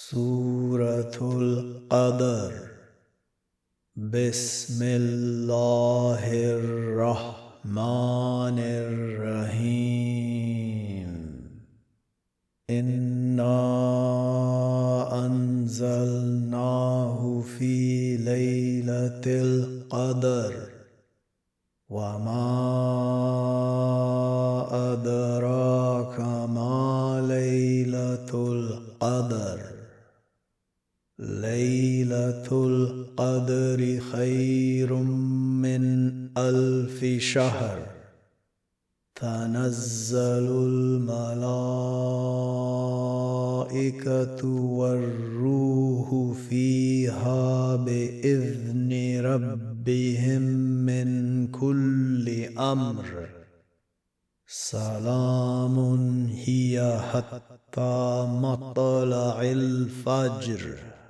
سورة القدر. بسم الله الرحمن الرحيم. إنا أنزلناه في ليلة القدر وما أدراك ما ليلة القدر. ليلة القدر خير من 1000 شهر. تنزل الملائكة والروح فيها بإذن ربهم من كل أمر. سلام هي حتى مطلع الفجر.